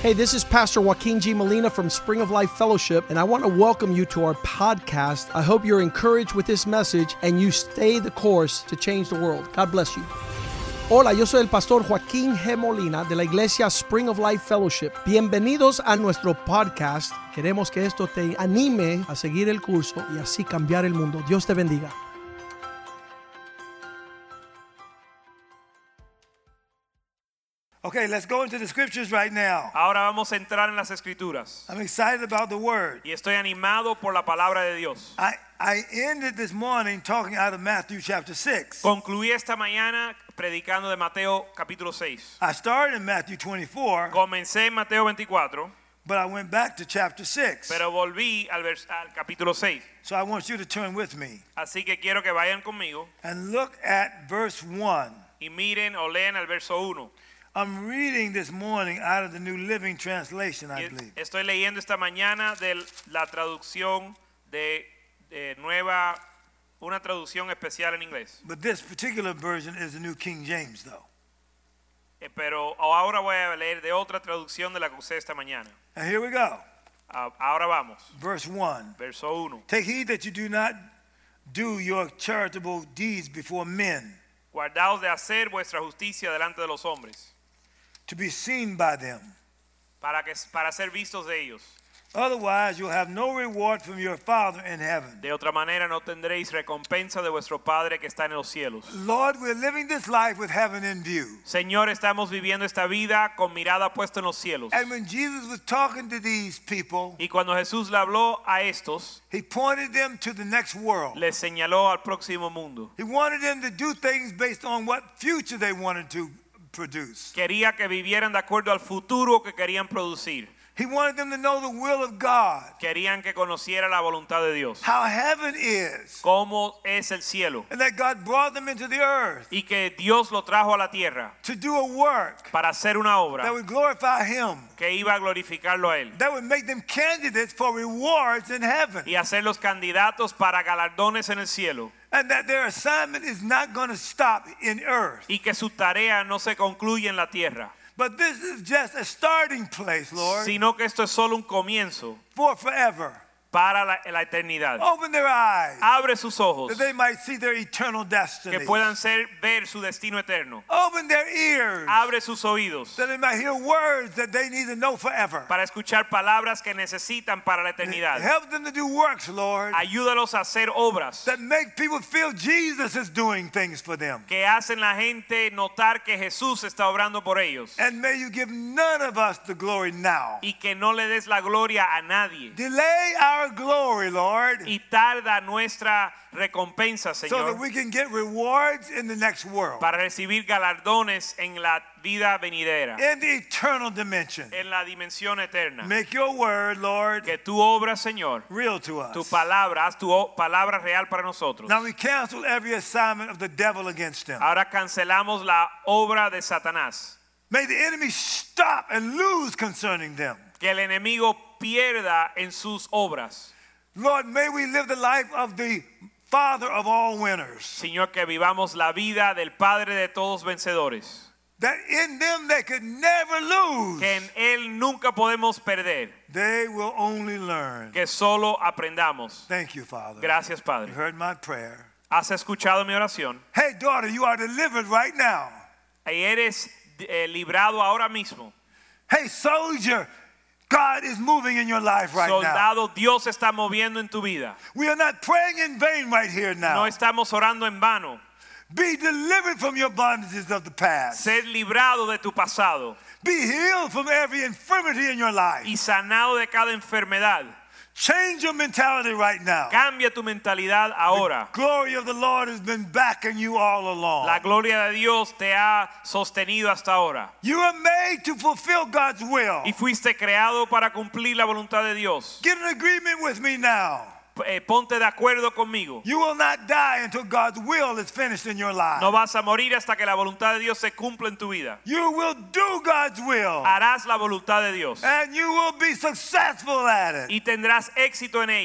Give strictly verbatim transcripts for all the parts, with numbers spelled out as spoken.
Hey, this is Pastor Joaquin G. Molina from Spring of Life Fellowship, and I want to welcome you to our podcast. I hope you're encouraged with this message and you stay the course to change the world. God bless you. Hola, yo soy el pastor Joaquín G. Molina de la iglesia Spring of Life Fellowship. Bienvenidos a nuestro podcast. Queremos que esto te anime a seguir el curso y así cambiar el mundo. Dios te bendiga. Okay, let's go into the scriptures right now. Ahora vamos a entrar en las escrituras. I'm excited about the word. Y estoy animado por la palabra de Dios. I, I ended this morning talking out of Matthew chapter six. Concluí esta mañana predicando de Mateo capítulo seis. I started in Matthew twenty-four. Comencé en Mateo veinticuatro. But I went back to chapter six. Pero volví al, vers- al capítulo seis. So I want you to turn with me. Así que quiero que vayan conmigo. And look at verse one. Y miren o lean el verso uno. I'm reading this morning out of the New Living Translation, I believe. Estoy leyendo esta mañana de la traducción de, de nueva, una traducción especial en inglés. But this particular version is the New King James, though. Eh, pero ahora voy a leer de otra traducción de la que usé esta mañana. And here we go. Uh, ahora vamos. Verse one. Verso uno. Take heed that you do not do your charitable deeds before men, Guardaos de hacer vuestra justicia delante de los hombres, to be seen by them. para que para ser vistos de ellos. Otherwise, you'll have no reward from your Father in heaven. De otra manera no tendréis recompensa de vuestro Padre que está en los cielos. Lord, we're living this life with heaven in view. Señor, estamos viviendo esta vida con mirada puesta en los cielos. And when Jesus was talking to these people, Y cuando Jesús le habló a estos, he pointed them to the next world. les señaló al próximo mundo. He wanted them to do things based on what future they wanted to produce. Quería que vivieran de acuerdo al futuro que querían producir. He wanted them to know the will of God, Querían que conociera la voluntad de Dios. how heaven is, Cómo es el cielo. and that God brought them into the earth Y que Dios lo trajo a la tierra to do a work para hacer una that obra would glorify Him, que iba a glorificarlo a Él. that would make them candidates for rewards in heaven, Y hacerlos candidatos para galardones en el cielo. and that their assignment is not going to stop in earth. Y que su tarea no se concluye en la tierra, But this is just a starting place, Lord, sino que esto es solo un comienzo for forever. para la, la eternidad. Open their eyes Abre sus ojos, that they might see their eternal destiny. que puedan ser, ver su destino eterno. Open their ears Abre sus oídos that they might hear words that they need to know forever. para escuchar palabras que necesitan para la eternidad. Help them to do works, Lord, Ayúdalos a hacer obras that make people feel Jesus is doing things for them. que hacen la gente notar que Jesús está obrando por ellos. And may you give none of us the glory now. Y que no le des la gloria a nadie. Delay our glory, Lord, Y tarda nuestra recompensa, so that Señor, we can get rewards in the next world, para recibir galardones en la vida venidera, in the eternal dimension. en la dimensión eterna. Make your word, Lord, Que tu obra, Señor, real to tu us. palabra, haz tu o- palabra real para nosotros. Now we cancel every assignment of the devil against them. Ahora cancelamos la obra de Satanás. May the enemy stop and lose concerning them. Que el enemigo pierda en sus obras. Lord, may we live the life of the Father of all winners, Señor, que vivamos la vida del Padre de todos vencedores. that in them they could never lose. Que en Él nunca podemos perder. They will only learn. Que solo aprendamos. Thank you, Father. Gracias, You Padre. heard my prayer. ¿Has escuchado mi oración? Hey, daughter, you are delivered right now. Y eres eh, librado ahora mismo. Hey, soldier, God is moving in your life right now. Soldado, Dios está moviendo en tu vida. We are not praying in vain right here No now. estamos orando en vano. Be delivered from your bondages of the past. Ser librado de tu pasado Be healed from every infirmity in your life. y sanado de cada enfermedad. Change your mentality right now. Cambia tu mentalidad ahora. Glory of the Lord has been backing you all along. La gloria de Dios te ha sostenido hasta ahora. You are made to fulfill God's will. Y fuiste creado para cumplir la voluntad de Dios. Get an agreement with me now. Eh, ponte de acuerdo conmigo. You will not die until God's will is finished in your life. No vas a morir hasta que la voluntad de Dios se cumpla en tu vida. You will do God's will. Harás la voluntad de Dios And you will be successful at it. y tendrás éxito en ella.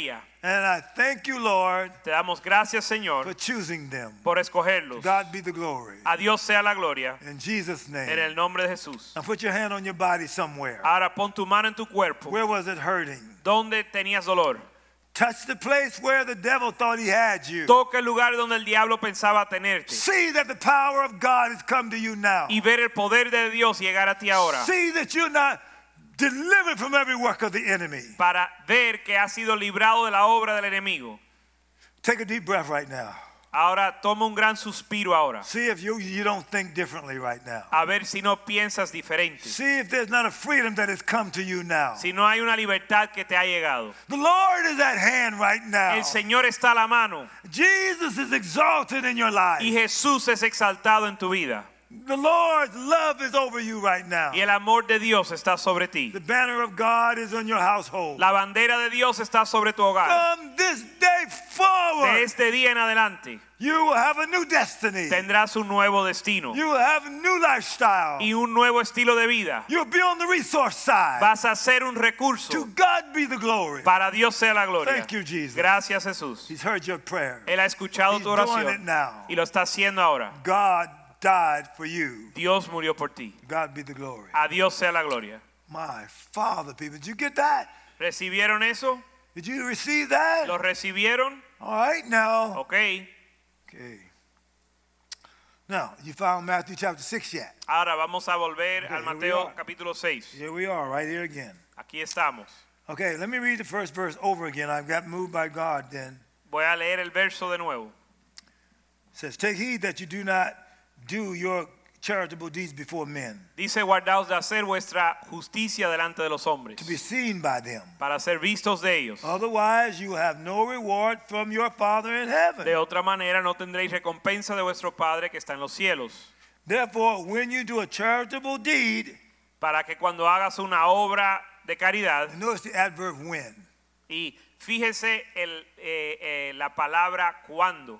And I thank you, Lord, Te damos gracias, Señor, for choosing them. por To escogerlos. God be the glory. A Dios sea la gloria In Jesus' en name. el nombre de Jesús. Now put your hand on your body somewhere. Ahora pon tu mano en tu cuerpo. Where was it hurting? ¿Dónde tenías dolor? Touch the place where the devil thought he had you. Toca el lugar donde el diablo pensaba tenerte. See that the power of God has come to you now. Y ver el poder de Dios llegar a ti ahora. See that you're not delivered from every work of the enemy. Para ver que has sido librado de la obra del enemigo. Take a deep breath right now. Ahora toma un gran suspiro ahora. See if you, you don't think differently right now. A ver si no piensas diferente. See if there's not a freedom that has come to you now. Si no hay una libertad que te ha llegado. The Lord is at hand right now. El Señor está a la mano. Jesus is exalted in your life. Y Jesús es exaltado en tu vida. The Lord's love is over you right now. Y el amor de Dios está sobre ti. The banner of God is on your household. La bandera de Dios está sobre tu hogar. From this day De forward, este día en adelante you will have a new destiny. tendrás un nuevo destino You will have a new lifestyle. y un nuevo estilo de vida. You'll be on the resource side. Vas a ser un recurso. To God be the glory. Para Dios sea la gloria. Thank you, Jesus. Gracias, Jesús. He's heard your prayer. Él ha escuchado He's tu doing oración it now. y lo está haciendo ahora. God died for you. Dios murió por ti. God be the glory. A Dios sea la gloria. My Father, people, did you get that? ¿Recibieron eso? Did you receive that? ¿Lo recibieron? All right, now. Ok. Okay. Now, you found Matthew chapter six yet? Ahora vamos a volver Okay, al here we Mateo are. capítulo seis. Here we are, right here again. Aquí estamos. Okay, let me read the first verse over again. I've got moved by God then. Voy a leer el verso de nuevo. It says, take heed that you do not do your charitable deeds before men, Dice, guardaos de hacer vuestra justicia delante de los hombres, to be seen by them. para ser vistos de ellos. Otherwise, you will have no reward from your Father in heaven. De otra manera no tendréis recompensa de vuestro Padre que está en los cielos. Therefore, when you do a charitable deed, Para que cuando hagas una obra de caridad, and notice the adverb when. y fíjese el, eh, eh, la palabra cuando.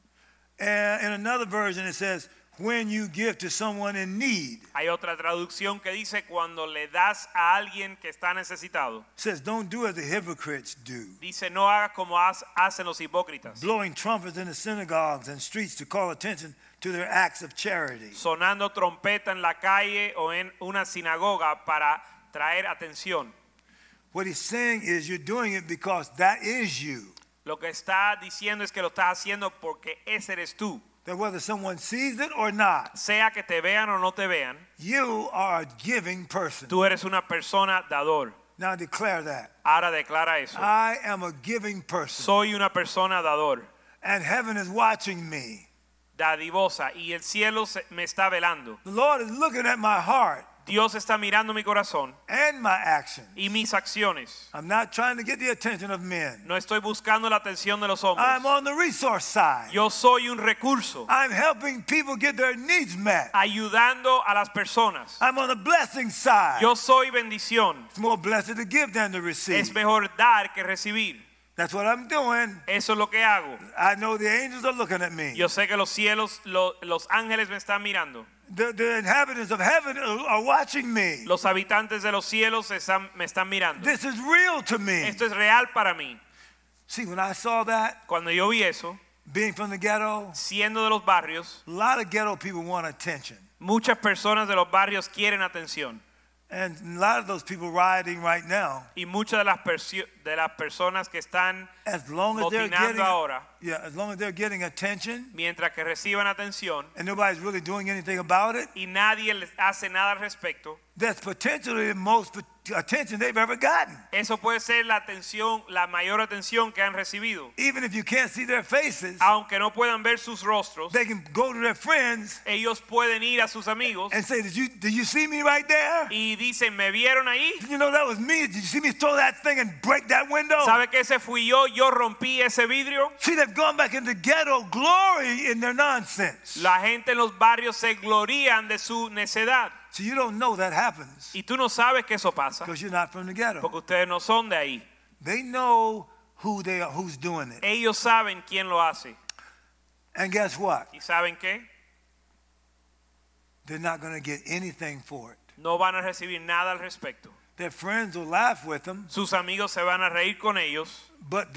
And in another version, it says, when you give to someone in need. Hay otra traducción que dice cuando le das a alguien que está necesitado. It says, don't do as the hypocrites do, Dice, no hagas como has- hacen los hipócritas, blowing trumpets in the synagogues and streets to call attention to their acts of charity. sonando trompeta en la calle o en una sinagoga para traer atención. What he's saying is you're doing it because that is you. Lo que está diciendo es que lo estás haciendo porque ese eres tú. That whether someone sees it or not, Sea que te vean o no te vean, you are a giving person. tú eres una persona dador. Now declare that. Ahora declara eso. I am a giving person. Soy una persona dador, And heaven is watching me. dadivosa, y el cielo se- me está velando. The Lord is looking at my heart Dios está mirando mi corazón and my actions. y mis acciones. I'm not trying to get the attention of men. No estoy buscando la atención de los hombres. I'm on the resource side. Yo soy un recurso, I'm helping people get their needs met. ayudando a las personas. I'm on the blessing side. Yo soy bendición. It's more blessed to give than to receive. Es mejor dar que recibir. That's what I'm doing. Eso es lo que hago. I know the angels are looking at me. Yo sé que los cielos, lo- los ángeles me están mirando. The, the inhabitants of heaven are are watching me. Los habitantes de los cielos están- me están mirando. This is real to me. Esto es real para mí. See, when I saw that, Cuando yo vi eso, being from the ghetto, siendo de los barrios, a lot of ghetto people want attention. muchas personas de los barrios quieren atención. And a lot of those people rioting right now, Y muchas de las, persio- de las personas que están as long as they're motinando getting, ahora, yeah, as long as they're getting attention, mientras que reciban atención and nobody's really doing anything about it, y nadie les hace nada al respecto, that's potentially the most pot- attention they've ever gotten. eso puede ser la atención, la mayor atención que han recibido. Even if you can't see their faces, Aunque no puedan ver sus rostros, they can go to their friends ellos pueden ir a sus amigos and say, did you, did you see me right there? y dicen, ¿me vieron ahí? You know, that was me. Did you see me throw that thing and break that window? ¿Sabe que ese fui yo? Yo rompí ese vidrio. See, they've gone back into ghetto glory in their nonsense. La gente en los barrios se glorían de su necedad. So you don't know that happens Y tú no sabes que eso pasa because you're not from the ghetto. porque ustedes no son de ahí. They know who they are, who's doing it. Ellos saben quién lo hace. And guess what? ¿Y saben qué? They're not going to get anything for it. No van a recibir nada al respecto. Their friends will laugh with them, Sus amigos se van a reír con ellos, but the,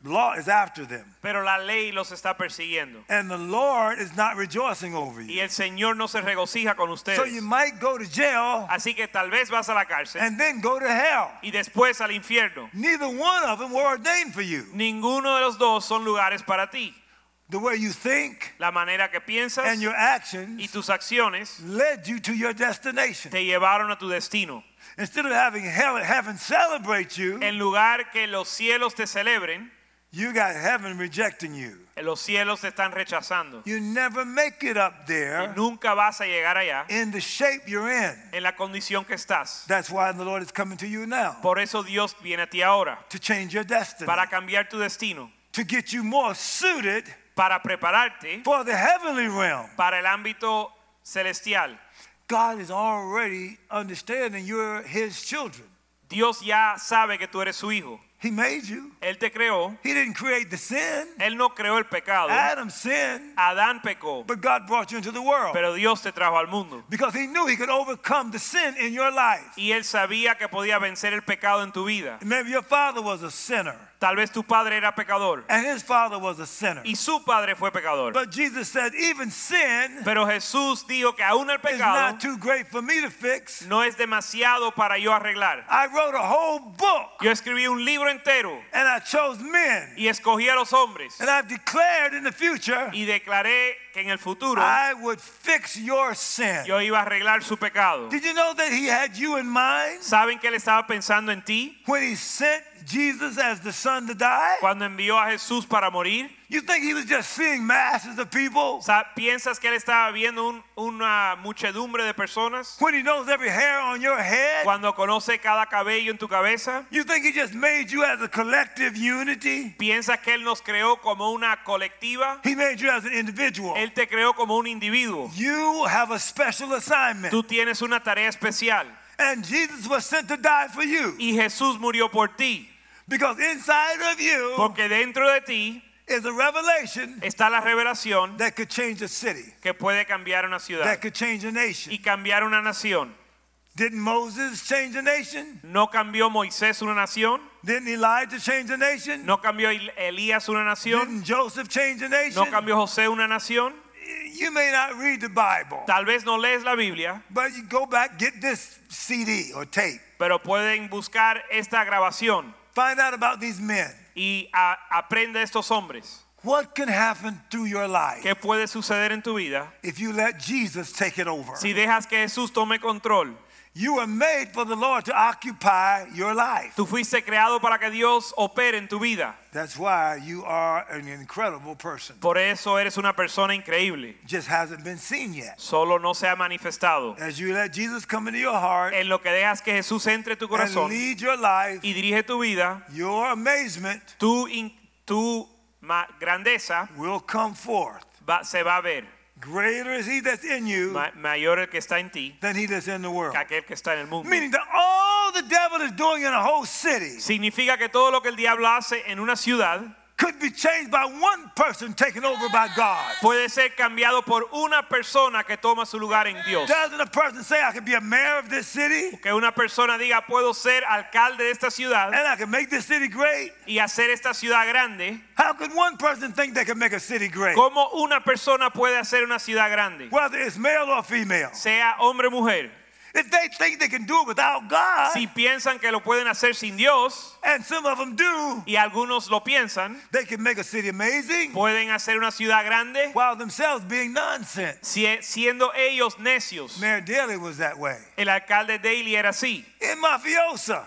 The law is after them. pero la ley los está persiguiendo. And the Lord is not rejoicing over Y you. el Señor no se regocija con ustedes. So you might go to jail Así que tal vez vas a la cárcel and then go to hell. y después al infierno. Neither one of them were ordained for you. Ninguno de los dos son lugares para ti. The way you think La manera que piensas and your y actions tus acciones led you to your destination. te llevaron a tu destino. Instead of having hell, heaven celebrate you, En lugar que los cielos te celebren, you got heaven rejecting you. los cielos te están rechazando. You never make it up Y there nunca vas a llegar allá in the shape you're in. en la condición que estás. That's why the Lord is coming to you now Por eso Dios viene a ti ahora to change your destiny, para cambiar tu destino, to get you more suited para prepararte for the heavenly realm. para el ámbito celestial. God is already understanding you're His children. Dios ya sabe que tú eres su hijo. He made you. Él te creó. He didn't create the sin. Él no creó el pecado. Adam sinned, Adán pecó, but God brought you into the world pero Dios te trajo al mundo. because He knew He could overcome the sin in your life. Y él sabía que podía vencer el pecado en tu vida. Maybe your father was a sinner Tal vez tu padre era pecador and his father was a sinner. y su padre fue pecador. But Jesus said, even sin Pero Jesús dijo que aún el is pecado not too great for me to fix. no es demasiado para yo arreglar. I wrote a whole book Yo escribí un libro entero and I chose men. y escogí a los hombres And I've declared in the future, y declaré que en el futuro I would fix your sin. yo iba a arreglar su pecado. Did you know that He had you in mind ¿Saben que él estaba pensando en ti when He sent Jesus as the Son to die? cuando envió a Jesús para morir? You think He was just seeing masses of people Sa- ¿Piensas que él estaba viendo un- una muchedumbre de personas when He knows every hair on your head? cuando conoce cada cabello en tu cabeza? You think He just made you as a collective unity? ¿Piensas que él nos creó como una colectiva? He made you as an individual. Él te creó como un individuo. You have a special assignment. Tú tienes una tarea especial And Jesus was sent to die for you y Jesús murió por ti, because inside of you porque dentro de ti is a revelation está la revelación that could change a city, que puede cambiar una ciudad that could change a nation. y cambiar una nación. Didn't Moses change a nation? ¿No cambió Moisés una nación? Didn't Elijah change a nation? ¿No cambió El- Elías una nación? Didn't Joseph change a nation? ¿No cambió José una nación? You may not read the Bible, Tal vez no lees la Biblia, but you go back, get this C D or tape. pero pueden buscar esta grabación Find out about these men. y a- aprende de estos hombres. What can happen through your life ¿Qué puede suceder en tu vida if you let Jesus take it over? si dejas que Jesús tome control? You were made for the Lord to occupy your life. Tú fuiste creado para que Dios opere en tu vida. That's why you are an incredible person. Por eso eres una persona increíble. Just hasn't been seen yet. Solo no se ha manifestado. As you let Jesus come into your heart En lo que dejas que Jesús entre en tu and corazón lead your life, y dirige tu vida, your amazement tu, in- tu ma- grandeza will come forth. va- se va a ver. Greater is He that's in you Ma- mayor el que está en ti than he that's in the world. que aquel que está en el mundo. Meaning that all the devil is doing in a whole city Significa que todo lo que el diablo hace en una ciudad could be changed by one person taken over by God. puede ser cambiado por una persona que toma su lugar en Dios. Doesn't a person say, I could be a mayor of this city Que una persona diga, puedo ser alcalde de esta ciudad and I can make this city great? y hacer esta ciudad grande. How could one person think they can make a city great? ¿Cómo una persona puede hacer una ciudad grande? Whether it's male or female. Sea hombre o mujer. If they think they can do it without God, Si piensan que lo pueden hacer sin Dios, and some of them do, y algunos lo piensan, they can make a city amazing pueden hacer una ciudad grande while themselves being nonsense. si- siendo ellos necios. Mayor Daley was that way. El alcalde Daley era así. In mafiosa.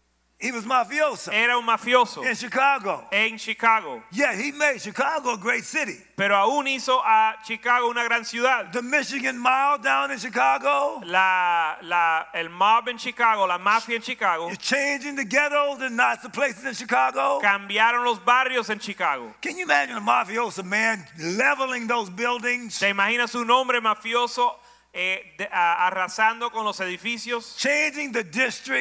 He was mafiosa Era un mafioso in Chicago. en Chicago, Yeah, he made Chicago a great city. pero aún hizo a Chicago una gran ciudad. The Michigan Mile down in Chicago, La, la, el mob en Chicago, la mafia en Chicago, you're changing the ghettos and not the places in Chicago. cambiaron los barrios en Chicago. Can you imagine a mafiosa man leveling those buildings, ¿Te imaginas un hombre mafioso eh, de- a- arrasando con los edificios, changing the districts?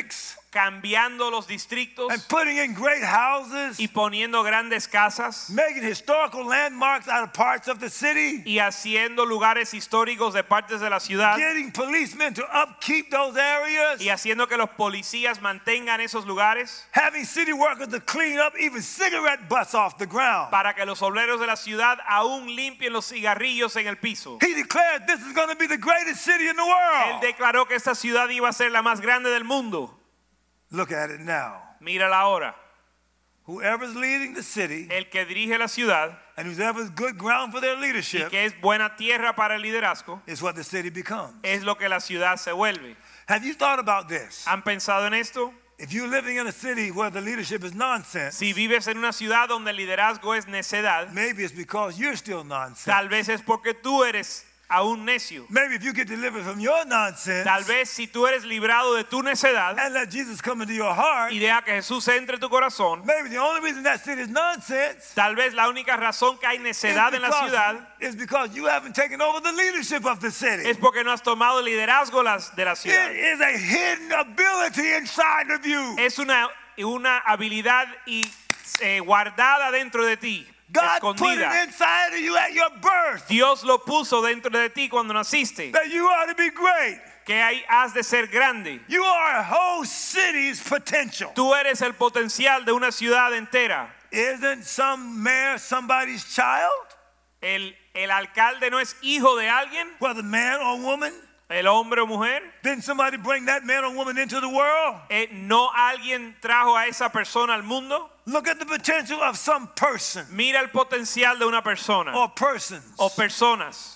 cambiando los distritos and putting in great houses, y poniendo grandes casas making historical landmarks out of parts of the city, y haciendo lugares históricos de partes de la ciudad getting policemen to upkeep those areas, y haciendo que los policías mantengan esos lugares having city workers to clean up even cigarette butts off the ground. para que los obreros de la ciudad aún limpien los cigarrillos en el piso. He declared this is going to be the greatest city in the Él world. declaró que esta ciudad iba a ser la más grande del mundo. Look at it now. Mírala ahora. Whoever's leading the city El que dirige la ciudad and whoever's good ground for their y leadership que es buena tierra para el liderazgo is what the city becomes. es lo que la ciudad se vuelve. Have you thought about this? ¿Han pensado en esto? If you're living in a city where the leadership is nonsense, Si vives en una ciudad donde el liderazgo es necedad, maybe it's because you're still nonsense. tal vez es porque tú eres aún necio. Maybe if you get delivered from your nonsense Tal vez si tú eres librado de tu necedad and let Jesus come into your heart, y deja que Jesús entre en tu corazón, maybe the only reason that city is nonsense tal vez la única razón que hay is necedad en la because, ciudad is because you haven't taken over the leadership of the city. es porque no has tomado el liderazgo las- de la ciudad. It is a hidden ability inside of you. Es una, una habilidad y, eh, guardada dentro de ti, God put it escondida. inside of you at your birth Dios lo puso dentro de ti cuando naciste, that you ought to be great. que ahí has de ser grande. You are a whole city's potential. Tú eres el potencial de una ciudad entera. Isn't some mayor somebody's child? El, el alcalde no es hijo de alguien, Whether man or woman? el hombre o mujer. Didn't somebody bring that man or woman into the world? Eh, no alguien trajo a esa persona al mundo. Look at the potential of some person Mira el potencial de una persona or persons. o personas.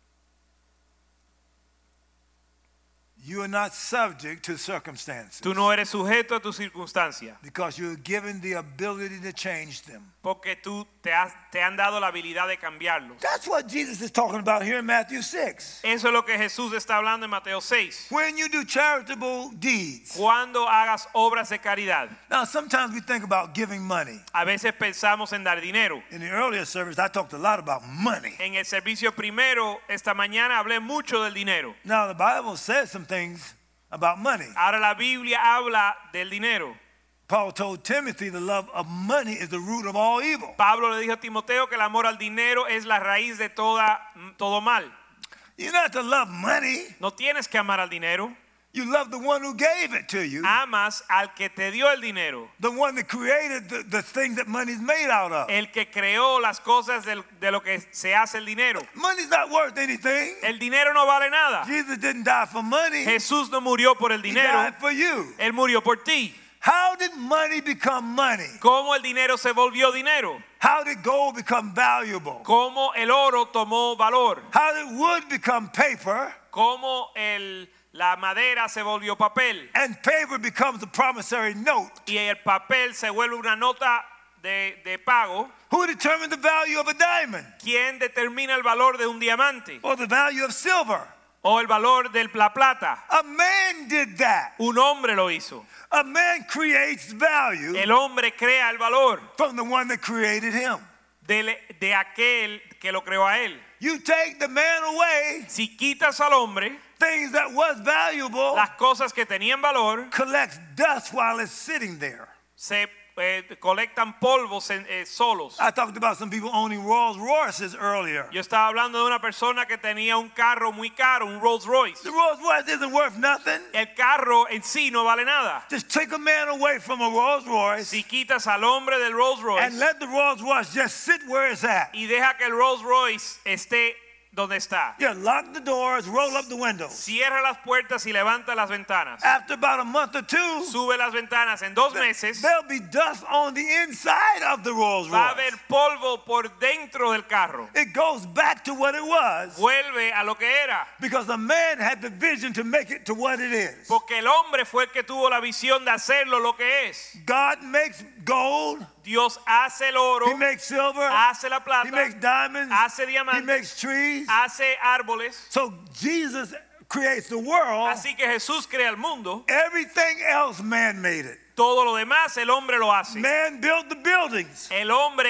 You are not subject to circumstances Tú no eres sujeto a tu circunstancia because you're given the ability to change them. porque tú te, has, te han dado la habilidad de cambiarlos. That's what Jesus is talking about here in Matthew six. Eso es lo que Jesús está hablando en Mateo seis. When you do charitable deeds. Cuando hagas obras de caridad. Now, sometimes we think about giving money. A veces pensamos en dar dinero. In the earlier service, I talked a lot about money. En el servicio primero, esta mañana hablé mucho del dinero. Now, the Bible says some things about money. Ahora la Biblia habla del dinero. Paul told Timothy the love of money is the root of all evil. Pablo le dijo a Timoteo que el amor al dinero es la raíz de toda, todo mal. You're not to love money. No tienes que amar al dinero. You love the one who gave it to you. Amas al que te dio el dinero. The one that created the, the things that money's made out of. El que creó las cosas del, de lo que se hace el dinero. Money's not worth anything. El dinero no vale nada. Jesus didn't die for money. Jesús no murió por el He dinero. died for you. Él murió por ti. How did money become money? ¿Cómo el dinero se volvió dinero? How did gold become valuable? ¿Cómo el oro tomó valor? How did wood become paper? ¿Cómo el, la madera se volvió papel? And paper becomes a promissory note. Y el papel se vuelve una nota de, de pago. Who determined the value of a diamond? ¿Quién determina el valor de un diamante? Or the value of silver? ¿O el valor de la plata? A man did that. Un hombre lo hizo. A man creates value El hombre crea el valor from the one that created him. de, de aquel que lo creó a él. You take the man away, Si quitas al hombre, things that was valuable las cosas que tenían valor collects dust while it's sitting there. se eh, colectan polvos en, eh, solos. I talked about some people owning Rolls Royces earlier. Yo estaba hablando de una persona que tenía un carro muy caro, un Rolls Royce. The Rolls Royce isn't worth nothing. El carro en sí no vale nada. Just take a man away from a Rolls Royce Si quitas al hombre del Rolls and Royce let the Rolls Royce just sit where it's at. y deja que el Rolls Royce esté donde está. Yeah, lock the doors, roll up the windows. Cierra las puertas y levanta las ventanas. After about a month or two, Sube las ventanas. En dos meses there'll be dust on the inside of the Rolls va a Royce. haber polvo por dentro del carro. It goes back to what it was Vuelve a lo que era. because the man had the vision to make it to what it is. Porque el hombre fue el que tuvo la visión de hacerlo lo que es. God makes gold, Dios hace el oro, He makes silver, hace la He plata, makes diamonds, hace He diamantes, makes trees. hace árboles. So Jesus creates the world. Así que Jesús crea el mundo. Everything else man made it. Todo lo demás el hombre lo hace. Man built the buildings. El hombre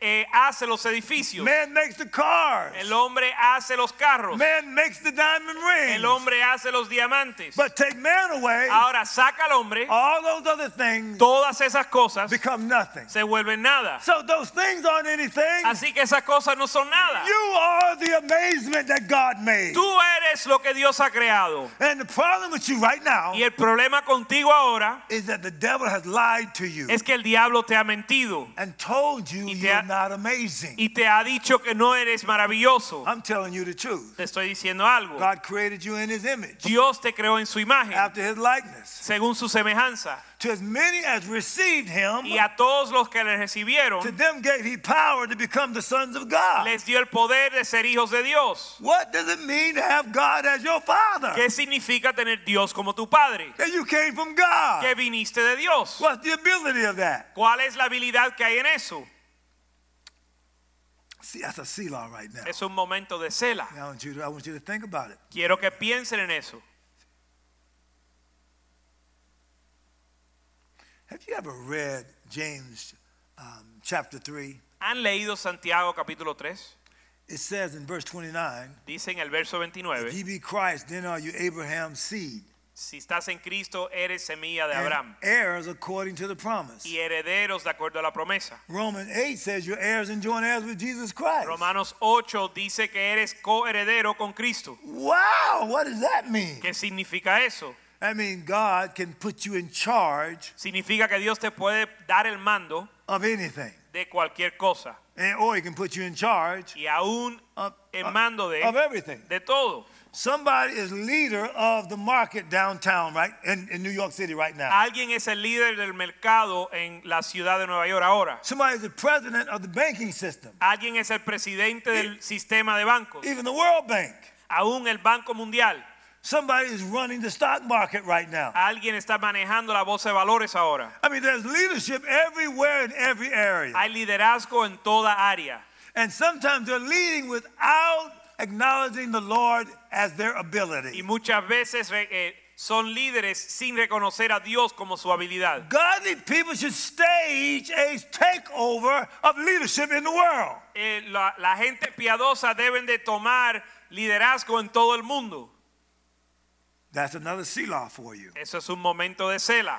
eh, hace los edificios. Man makes the cars. El hombre hace los carros. Man makes the diamond rings. El hombre hace los diamantes. But take man away, Ahora saca al hombre, all those other things todas esas cosas become nothing. se vuelven nada. So those things aren't anything. Así que esas cosas no son nada. You are the amazement that God made. Tú eres lo que Dios ha creado. And the problem with you right now Y el problema contigo ahora is that the devil has lied to you es que el diablo te ha mentido and told you Y te you're ha- not amazing. y te ha dicho que no eres maravilloso. I'm telling you the truth. Te estoy diciendo algo. God created you in his image, Dios te creó en su imagen, after his likeness. según su semejanza. To as many as received him, Y a todos los que le to recibieron, them gave he power to become the sons of God. les dio el poder de ser hijos de Dios. What does it mean to have God as your father? ¿Qué significa tener Dios como tu padre? That you came from God. Que viniste de Dios. What's the ability of that? ¿Cuál es la habilidad que hay en eso? See, that's a Selah right now. Es un momento de cela. I want you to, I want you to think about it. Quiero que piensen en eso. Have you ever read James um, chapter three? ¿Han leído Santiago capítulo tres? It says in verse twenty-nine, Dice en el verso if veintinueve, ye be Christ, then are you Abraham's seed, si estás en Cristo, eres semilla de and Abraham heirs according to the promise. y herederos de acuerdo a la promesa. Romans eight says you're heirs and joint heirs with Jesus Christ. Romanos ocho dice que eres coheredero con Cristo. Wow, what does that mean? ¿Qué significa eso? That means God can put you in charge Significa que Dios te puede dar el mando of anything, de cualquier cosa and, or he can put you in charge y aún of, el of, mando de, of everything. de todo. Somebody is leader of the market downtown, right, in, in New York City right now. Alguien es el líder del mercado en la ciudad de Nueva York ahora. Somebody is the president of the banking system, Alguien es el presidente del sistema de bancos. even the World Bank. Aún el Banco Mundial. Somebody is running the stock market right now. Alguien está manejando la bolsa de valores ahora. I mean, there's leadership everywhere in every area. Hay liderazgo en toda área. And sometimes they're leading without acknowledging the Lord as their Y ability. muchas veces eh, son líderes sin reconocer a Dios como su habilidad. Godly people should stage a takeover of leadership in the world. Eh, la, la gente piadosa deben de tomar liderazgo en todo el mundo. That's another Selah for you. Eso es un momento de cela.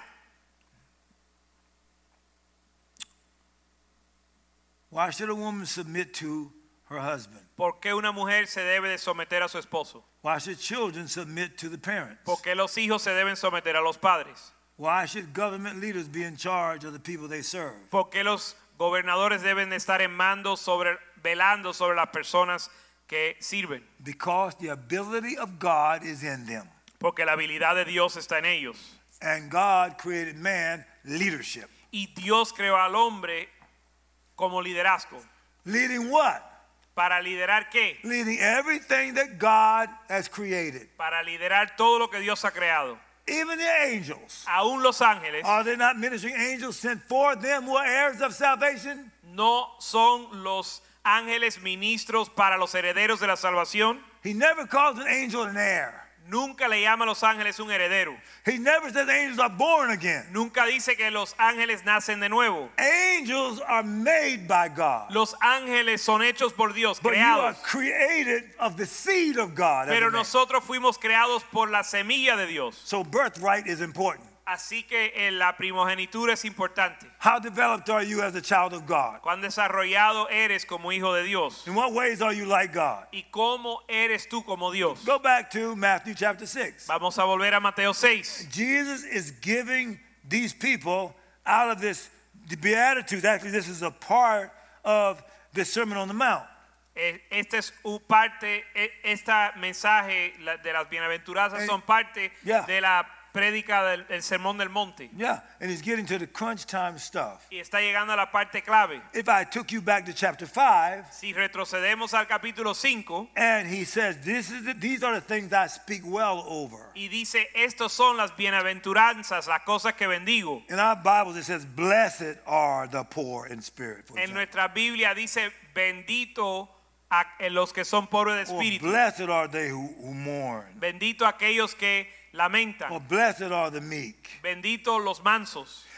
Why should a woman submit to her husband? ¿Por qué una mujer se debe de someter a su esposo? Why should children submit to the parents? ¿Por qué los hijos se deben someter a los padres? Why should government leaders be in charge of the people they serve? ¿Por qué los gobernadores deben de estar en mando sobre, velando sobre las personas que sirven? Because the ability of God is in them. Porque la habilidad de Dios está en ellos. And God created man leadership. Y Dios creó al hombre como liderazgo. Leading what? ¿Para liderar qué? Leading everything that God has created. Para liderar todo lo que Dios ha creado. Even the angels. Aún los ángeles Are they not ministering angels sent for them who are heirs of salvation? no son los ángeles ministros para los herederos de la salvación. He never calls an angel an heir. Nunca le llama a los ángeles un heredero. He never says angels are born again. Nunca dice que los ángeles nacen de nuevo. Angels are made by God. Los ángeles son hechos por Dios, But you are creados. created of the seed of God. as a Pero man. nosotros fuimos creados por la semilla de Dios. So birthright is important. Así que eh, la primogenitura es importante. How developed are you as a child of God? ¿Cuán desarrollado eres como hijo de Dios? In what ways are you like God? ¿Y cómo eres tú como Dios? Go back to Matthew chapter six. Vamos a volver a Mateo seis. Jesus is giving these people out of this the Beatitudes. Actually, this is a part of the Sermon on the Mount. Eh, Este es un parte, eh, esta mensaje la- de las bienaventuranzas Eh, son parte yeah. de la prédica del, del sermón del monte. Yeah, and he's getting to the crunch time stuff. Y está llegando a la parte clave. If I took you back to chapter five, Si retrocedemos al capítulo cinco and he says, "This is the, these are the things I speak well over." y dice, estos son las bienaventuranzas, las cosas que bendigo. In our Bibles, it says, "Blessed are the poor in spirit." For En example. nuestra Biblia dice, bendito a los que son pobres de Or espíritu. blessed are they who, who mourn. Bendito aquellos que Or lamentan. blessed are the meek. Bendito los mansos.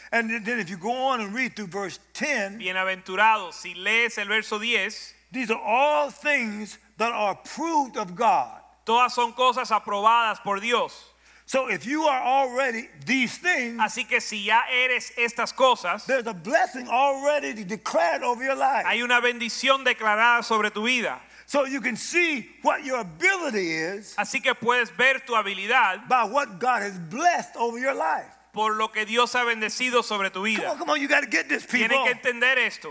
And then if you go on and read through verse ten, Bienaventurados, si lees el verso diez, these are all things that are approved of God. todas son cosas aprobadas por Dios. So if you are already these things, Así que si ya eres estas cosas, there's a blessing already declared over your life. hay una bendición declarada sobre tu vida. So you can see what your ability is Así que puedes ver tu habilidad by what God has blessed over your life. por lo que Dios ha bendecido sobre tu Come on, vida. come on, you got to get this, people. Tienen que entender esto.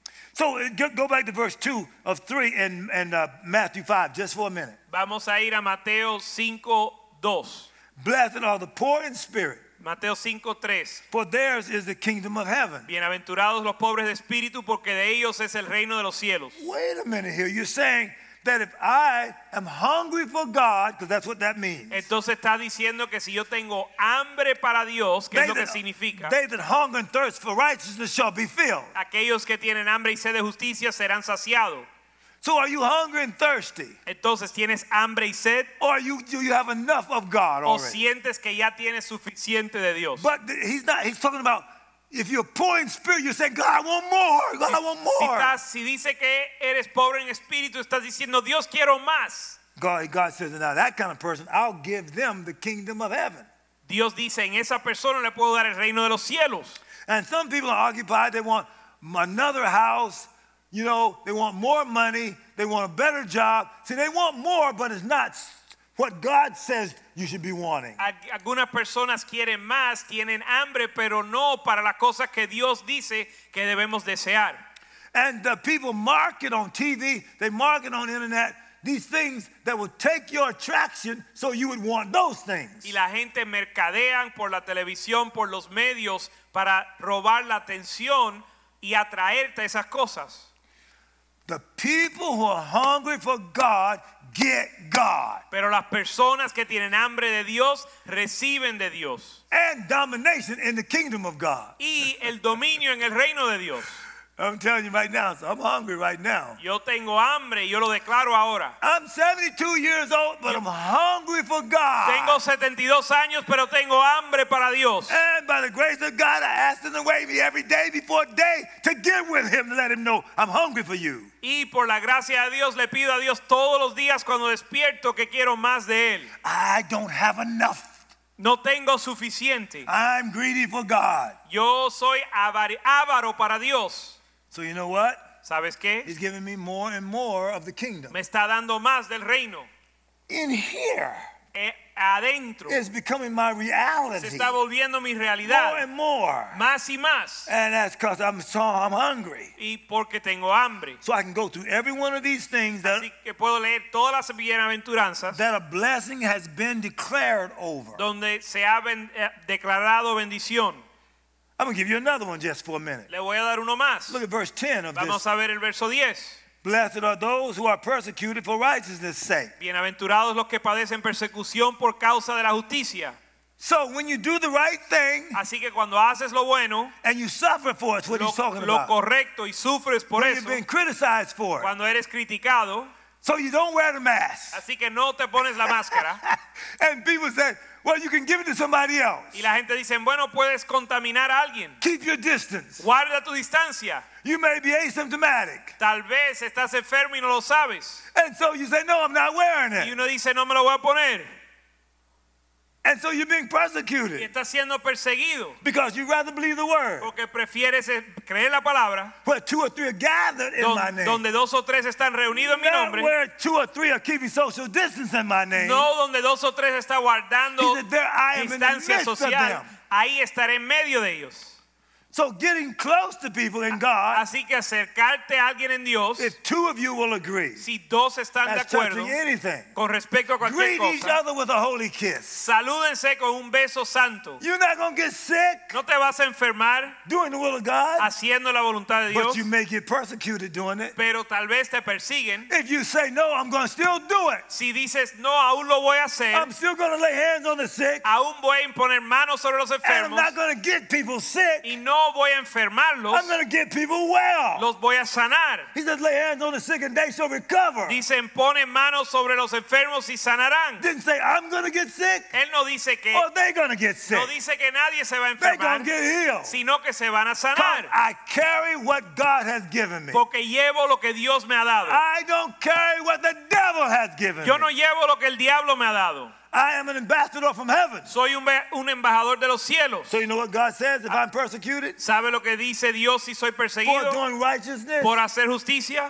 So uh, go go back to verse two of three in, in uh, Matthew five, just for a minute. Vamos a ir a Mateo cinco dos. Blessed are the poor in spirit, Mateo cinco tres. for theirs is the kingdom of heaven. Bienaventurados los pobres de espíritu, porque de ellos es el reino de los cielos. Wait a minute here. You're saying that if I am hungry for God, because that's what that means. Entonces está diciendo que si yo tengo hambre para Dios, ¿qué es They lo que that, significa? they that hunger and thirst for righteousness shall be filled. Aquellos que tienen hambre y sed de justicia serán saciados. So are you hungry and thirsty? Entonces, ¿tienes hambre y sed? Or you, do you have enough of God ¿O already? sientes que ya tienes suficiente de Dios? But th- he's not, he's talking about if you're poor in spirit, you're saying, God, I want more. God, I want Si, more. estás, si dice que eres pobre en espíritu, estás diciendo, Dios, quiero más. God, God says, now that kind of person, I'll give them the kingdom of heaven. Dios dice, en esa persona le puedo dar el reino de los cielos. And some people are occupied, they want another house, you know, they want more money, they want a better job. See, they want more, but it's not what God says you should be wanting. Algunas personas quieren más, tienen hambre, pero no para las cosas que Dios dice que debemos desear. And the people market on T V, they market on internet, these things that will take your attraction so you would want those things. Y la gente mercadean por la televisión, por los medios, para robar la atención y atraerte a esas cosas. The people who are hungry for God get God. Pero las personas que tienen hambre de Dios reciben de Dios. And domination in the kingdom of God. Y el dominio en el reino de Dios. I'm telling you right now, so I'm hungry right now. Yo tengo hambre y yo lo declaro ahora. I'm seventy-two years old, but I'm hungry for God. Tengo setenta y dos años, pero tengo hambre para Dios. And by the grace of God, I ask Him to wake me every day before day to get with Him to let Him know I'm hungry for you. Y por la gracia de Dios le pido a Dios todos los días cuando despierto que quiero más de Él. I don't have enough. No tengo suficiente. I'm greedy for God. Yo soy avar- avaro para Dios. So you know what? ¿Sabes qué? He's giving me more and more of the kingdom. Me está dando más del reino. In here, Eh, adentro. it's becoming my reality. Se está volviendo mi More realidad. and more. Más y más. And that's because I'm so I'm hungry. Y porque tengo hambre. So I can go through every one of these things that, Así que puedo leer todas las bienaventuranzas that a blessing has been declared over. donde se ha ben- eh, declarado bendición. I'm going to give you another one just for a minute. Le voy a dar uno más. Look at verse ten of Vamos this. a ver el verso diez. Blessed are those who are persecuted for righteousness' sake. Bienaventurados los que padecen persecución por causa de la justicia. So when you do the right thing Así que cuando haces lo bueno, and you suffer for it, it's what lo, he's talking lo about. correcto y sufres por When eso, you've been criticized for it. cuando eres criticado, So you don't wear the mask. así que no te pones la máscara. And people say, well, you can give it to somebody else. Y la gente dice, bueno, puedes contaminar a alguien. Keep your distance. Guarda tu distancia. You may be asymptomatic. Tal vez estás enfermo y no lo sabes. And so you say, no, I'm not wearing Y it. uno dice, no me lo voy a poner. And so you're being Y persecuted estás siendo perseguido because you rather believe the word. porque prefieres eh, creer la palabra Where two or three are gathered in don- my name. donde dos o tres están reunidos en mi Not nombre. where two or three are keeping social distance in my name. No donde dos o tres está guardando He said, there I am in the distancia midst of social. them. Ahí estaré en medio de ellos. So getting close to people in God, Así que acercarte a alguien en Dios, if two of you will agree, si dos están de as acuerdo touching anything, con respecto a cualquier greet each cosa, other with a holy kiss. salúdense con un beso santo. You're not going to get sick No te vas a enfermar doing the will of God, haciendo la voluntad de but Dios, you may get persecuted doing it. pero tal vez te persiguen. If you say, no, I'm going to still do it. Si dices, no, aún lo voy a hacer, I'm still going to lay hands on the sick, aún voy a imponer manos sobre los and I'm enfermos not going to get people sick. y no no voy a enfermarlos, I'm going to get people well. los voy a sanar. He says, lay hands on the sick and they shall recover. Dicen, ponen manos sobre los enfermos y sanarán. Didn't say, I'm going to get sick Él no dice que or they're going to get sick. no dice que nadie se va a They're going enfermar, to get healed. sino que se van a Because sanar. I carry what God has given me. Porque llevo lo que Dios me ha dado. I don't carry what the devil has given Yo no me. llevo lo que el diablo me ha dado. I am an ambassador from heaven. Soy un, be- un embajador de los cielos. So you know what God says if I'm persecuted ¿Sabe lo que dice Dios si soy for perseguido doing righteousness? por hacer justicia?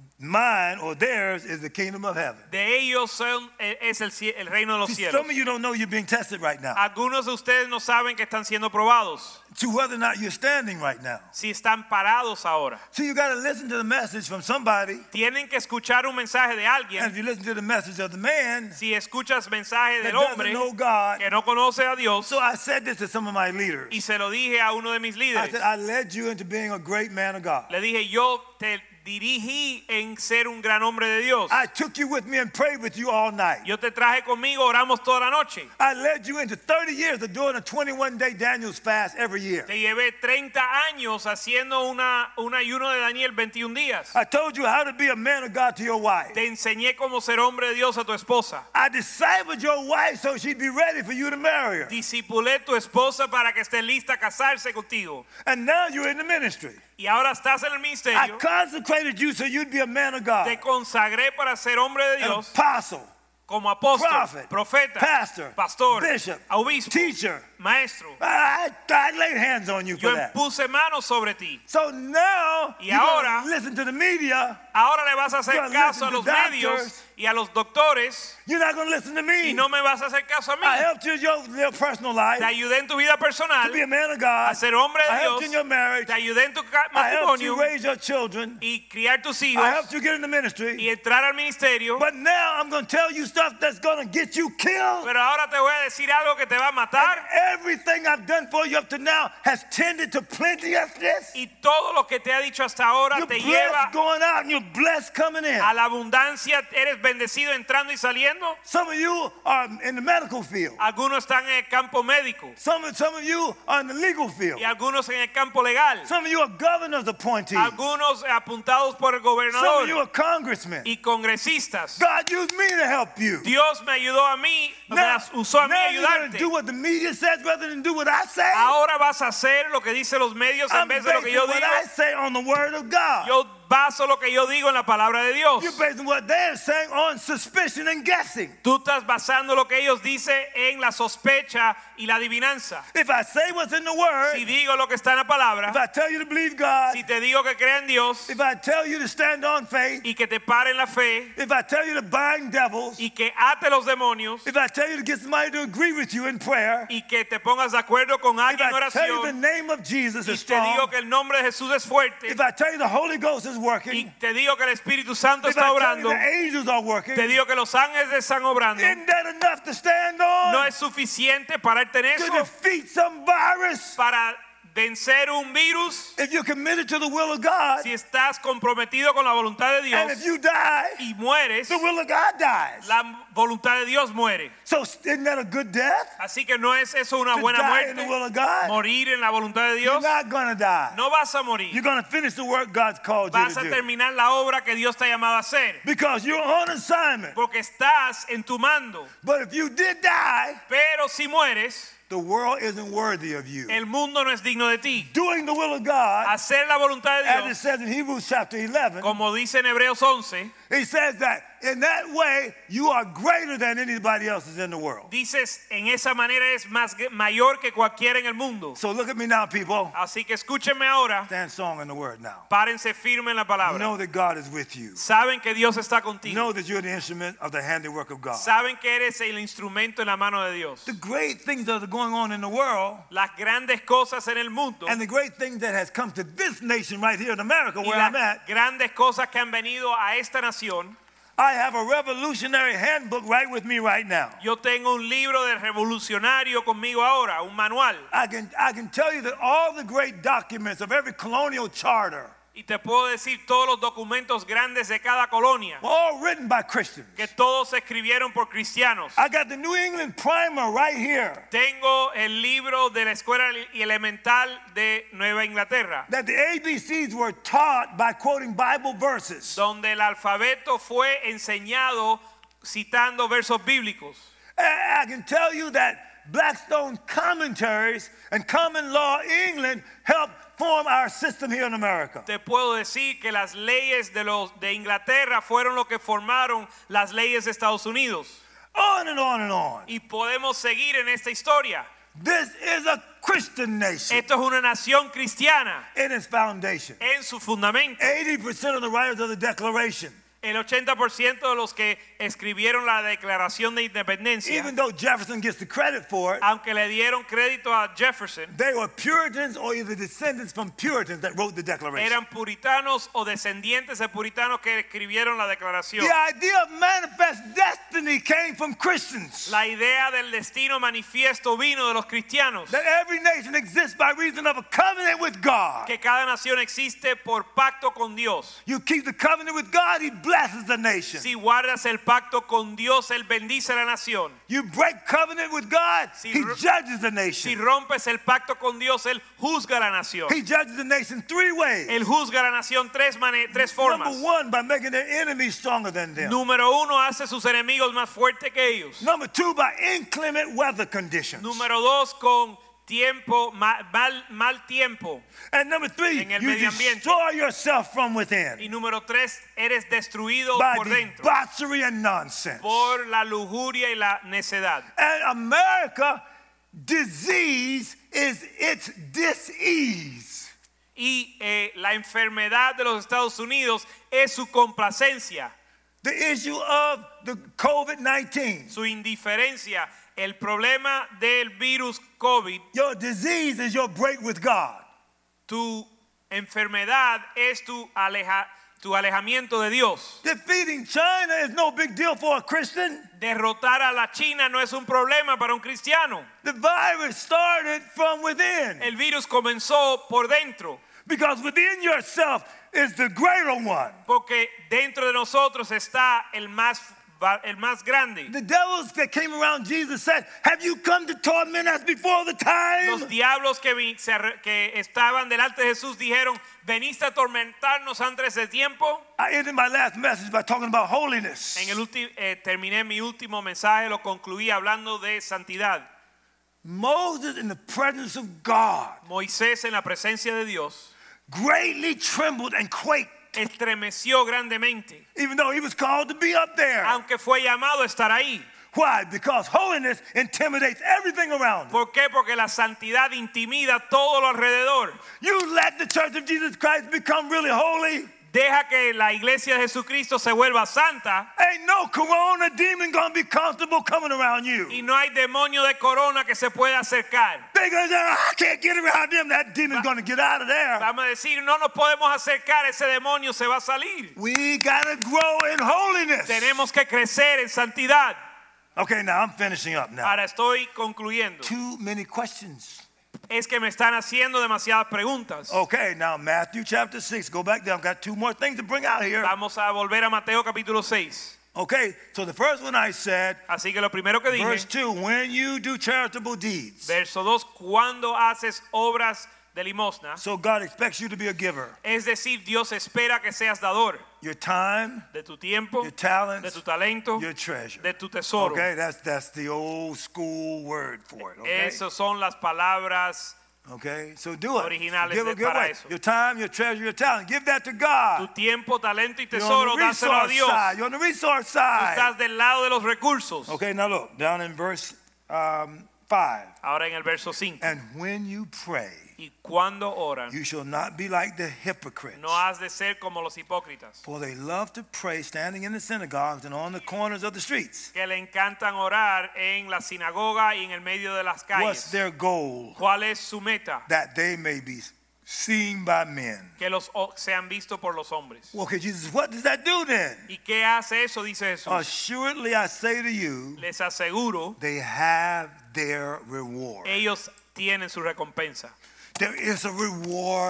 Mine or theirs is the kingdom of heaven. De ellos son, es el, cie- el reino de los See, cielos. some of you don't know you're being tested right now. Algunos de ustedes no saben que están siendo probados, To whether or not you're standing right now. si están parados ahora. So you got to listen to the message from somebody. Tienen que escuchar un mensaje de And alguien. if you listen to the message of the man Si escuchas mensaje that del hombre doesn't know God. que no conoce a Dios, So I said this to some of my leaders. y se lo dije a uno de mis I líderes, said, I led you into being a great man of God. le dije, yo te dirigí en ser un gran hombre de Dios. I took you with me and prayed with you all night. Yo te traje conmigo, oramos toda la noche. I led you into thirty years of doing a twenty-one day Daniel's fast every year. Te llevé treinta años haciendo una, un ayuno de Daniel veintiún días. I told you how to be a man of God to your wife. Te enseñé cómo ser hombre de Dios a tu esposa. I discipled your wife so she'd be ready for you to marry her. Discipulé tu esposa para que esté lista a casarse contigo. And now you're in the ministry. Y ahora estás en el I ministerio. consecrated you so you'd be a man of God, Te consagré para ser hombre de an Dios, apostle, como apóstol, prophet, profeta, pastor, pastor, bishop, obispo, teacher. maestro. I, I laid hands on you Yo for that. puse manos sobre ti. So now Y you're ahora- gonna listen to the media. Ahora le vas a hacer You're gonna caso a listen los to medios doctors. y a los doctores You're not going to listen to me. y no me vas a hacer caso a mí. I helped you in your, your personal life Te ayudé en tu vida personal, to be a man of God. a ser hombre de I helped Dios. you in your marriage. Te ayudé en tu ca- I helped matrimonio you raise your children. y criar tus I hijos helped you get in the ministry. y entrar al ministerio. But now I'm going to tell you stuff that's going to get you killed. Pero ahora te voy a decir algo que te va a And matar. everything I've done for you up to now has tended to plenteousness. Y todo lo que te ha dicho hasta ahora You're te blessed lleva going out and you're blessed coming in. a la abundancia. Eres bendecido entrando y saliendo. Some of you are in the medical field. Algunos están en el campo médico Some of, some of you are in the legal field. y algunos en el campo legal. Some of you are governor's appointees. Algunos apuntados por el Some of you gobernador are congressmen. y congresistas. God used me to help you. Dios me ayudó a mí, me Now, usó a mí now you're going to ayudarte. do what the media says rather than do what I say. Ahora vas a hacer lo que dicen los medios en I'm vez de lo que basing yo what I digo. say on the word of God. Yo baso lo que yo digo en la palabra de Dios. You're basing what they're saying on suspicion and guessing. Tú estás basando lo que ellos dicen en la sospecha y la adivinanza. If I say what's in the word, Si digo lo que está en la palabra, if I tell you to believe God, si te digo que crea en Dios if I tell you to stand on faith, y que te pare en la fe if I tell you to bind devils, y que ate los demonios if I tell you to get somebody to agree with you in prayer, y que te pongas de acuerdo con if alguien en I tell you the oración name of Jesus y is te digo strong, que el nombre de Jesús es fuerte if I tell you the Holy Ghost is y working, te digo que el Espíritu Santo if está I tell you obrando, the angels are working, te digo que los ángeles están obrando, isn't that enough to stand on? no es suficiente pararte en To eso defeat some virus? para vencer un virus. If you're committed to the will of God, Si estás comprometido con la voluntad de and if Dios you die, y mueres, the will of God dies. la voluntad de Dios muere. So isn't that a good death? Así que no es eso una To buena die in the will muerte, of God? morir en la voluntad de You're Dios. not going to die. No vas a morir, You're going to finish the work God's called you vas to a do. terminar la obra que Dios te ha llamado a hacer, Because you're on assignment. porque estás en tu mando. But if you did die, Pero si mueres, the world isn't worthy of you. el mundo no es digno de ti. Doing the will of God, Hacer la voluntad de as it Dios, says in Hebrews chapter eleven, como dice en Hebreos once, he says that in that way you are greater than anybody else is in the world. dices en esa manera es más mayor que cualquiera en el mundo. So look at me now, people. Así que escúchenme ahora, Stand strong in the word now. párense firme en la palabra. Know that God is with you. Saben que Dios está contigo. Know that you're the instrument of the handiwork of God. Saben que eres el instrumento en la mano de Dios. The great things that are going on in the world, Las grandes cosas en el mundo and the great thing that has come to this nation right here in America, y where I'm las at, grandes cosas que han venido a esta nación. I have a revolutionary handbook right with me right now. Yo tengo un libro de revolucionario conmigo ahora, un manual. I can, I can tell you that all the great documents of every colonial charter, Y te puedo decir todos los documentos grandes de cada colonia, all written by Christians. que todos se escribieron por cristianos. I got the New England Primer right here. Tengo el libro de la escuela elemental de Nueva Inglaterra, That the A B Cs were taught by quoting Bible verses. donde el alfabeto fue enseñado citando versos bíblicos. I I can tell you that Blackstone commentaries and common law England helped form our system here in America. Te puedo decir que las leyes de los de Inglaterra fueron lo que formaron las leyes de Estados Unidos. On and on and on. Y podemos seguir en esta historia. This is a Christian nation Esto es una nación cristiana in its foundation. en su fundamento. eighty percent of the writers of the Declaration, El ochenta por ciento de los que escribieron la Declaración de Independencia, even though Jefferson gets the credit for it, aunque le dieron crédito a Jefferson, they were Puritans or either descendants from Puritans that wrote the Declaration. eran puritanos o descendientes de puritanos que escribieron la Declaración. The idea of manifest destiny came from Christians. La idea del destino manifiesto vino de los cristianos. That every nation exists by reason of a covenant with God. Que cada nación existe por pacto con Dios. You keep the covenant with God, He blesses the nation. Si guardas el pacto con Dios, Él bendice a la nación. You break covenant with God, Si He ro- judges the Si nation. rompes el pacto con Dios, Él juzga a la nación. He judges the nation three ways. Él juzga a la nación tres, mane- tres formas. Number one, by making their enemies stronger than them. Número uno, hace sus enemigos más fuertes que ellos. Number two, by inclement weather conditions. Número dos, con tiempo, ma- mal, mal tiempo. And number three, En el you medio ambiente. destroy yourself from within Y número tres, eres destruido by por dentro debauchery and nonsense. por la lujuria y la necedad. And America, disease is its dis-ease. Y eh, la enfermedad de los Estados Unidos es su complacencia, The issue of the COVID nineteen. su indiferencia. El problema del virus COVID, Your disease is your break with God. tu enfermedad es tu, aleja, tu alejamiento de Dios. Defeating China is no big deal for a Christian. Derrotar a la China no es un problema para un cristiano. The virus started from within. El virus comenzó por dentro, Because within yourself is the greater one. porque dentro de nosotros está el más, el más grande. The devils that came around Jesus said, have you come to torment us before the time? Los diablos que, vi- se arre- que estaban delante de Jesús dijeron, ¿veniste a atormentarnos antes de tiempo? I ended my last message by talking about holiness. En el ulti- eh, terminé mi último mensaje, lo concluí hablando de santidad. Moses in the presence of God Moisés en la presencia de Dios greatly trembled and quaked, estremeció grandemente, even though he was called to be up there. aunque fue llamado a estar ahí. Why? Because holiness intimidates everything around it. ¿Por qué? Porque la santidad intimida todo lo alrededor. You let the church of Jesus Christ become really holy, Deja que la iglesia de Jesucristo se vuelva santa ain't no corona demon gonna be comfortable coming around you. y no hay demonio de corona que se pueda acercar. They gonna say, I can't get around them. That demon's gonna get out of there. Vamos a decir, no nos podemos acercar, ese demonio se va a salir. We gotta grow in holiness. Tenemos que crecer en santidad. Okay, now I'm finishing up now. Ahora estoy concluyendo. Too many questions. Es que me están haciendo demasiadas preguntas. Okay, now Matthew chapter six. Go back there. I've got two more things to bring out here. Vamos a volver a Mateo capítulo seis. Okay, so the first one I said, Así que lo primero que verse dije, two, when you do charitable deeds. verso dos, cuando haces obras de limosna, So God expects you to be a giver. es decir, Dios espera que seas dador Your time, de tu tiempo, your de talents, tu talento, your treasure. de tu tesoro. Okay, that's that's the old school word for it. Okay, Esas son las palabras okay, so do it. originales Give, de- give para away. eso. Your time, your treasure, your talent. Give that to Tu God. tiempo, talento y You're tesoro, on the dáselo a resource Dios. side. You're on the resource side. Estás del lado de los recursos. Okay, now look down in verse um, five. Ahora en el verso cinco. And when you pray, Y cuando oran, you shall not be like the hypocrites, no has de ser como los hipócritas, for they love to pray standing in the synagogues and on the corners of the streets. que le encantan orar en la sinagoga y en el medio de las What's calles. their goal? ¿Cuál es su meta? That they may be seen by men. Que los o- sean vistos por los hombres. Well, okay, Jesus, what does that do then? ¿Y qué hace eso? Dice Jesús. Assuredly, I say to you, Les aseguro, they have their reward. ellos tienen su recompensa. There is a reward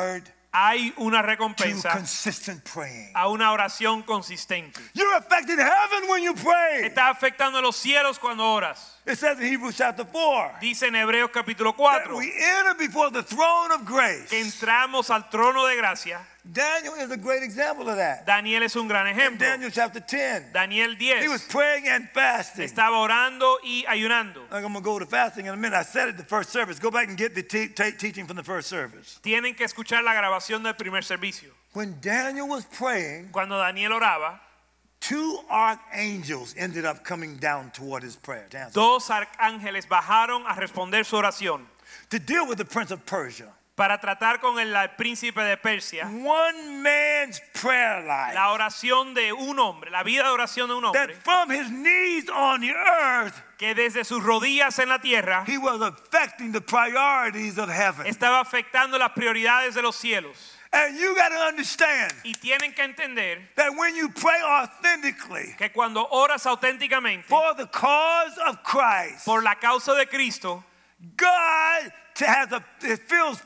hay una to recompensa consistent praying. a una oración consistente. You're affecting heaven when you pray. Está afectando a los cielos cuando oras. It says in Hebrews chapter four Dice en Hebreos capítulo that cuatro we enter before the throne of grace. que entramos al trono de gracia. Daniel is a great example of that. Daniel es un gran In ejemplo. Daniel chapter ten, Daniel he was diez praying and fasting. estaba orando y ayunando. Like I'm going to go to fasting in a minute. I said it the first service. Go back and get the te- te- teaching from the first service. Tienen que escuchar la grabación del primer servicio. When Daniel was praying, Cuando Daniel oraba, two archangels ended up coming down toward his prayer to, answer, dos arcángeles bajaron a responder su oración to deal with the prince of Persia. para tratar con el, el príncipe de Persia. One man's prayer life, La oración de un hombre, la vida de oración de un that hombre, from his knees on the earth, que desde sus rodillas en la tierra he was affecting the priorities of heaven. estaba afectando las prioridades de los cielos. And you got to understand Y tienen que entender that when you pray authentically que cuando oras auténticamente for the cause of Christ, por la causa de Cristo, God has a, it feels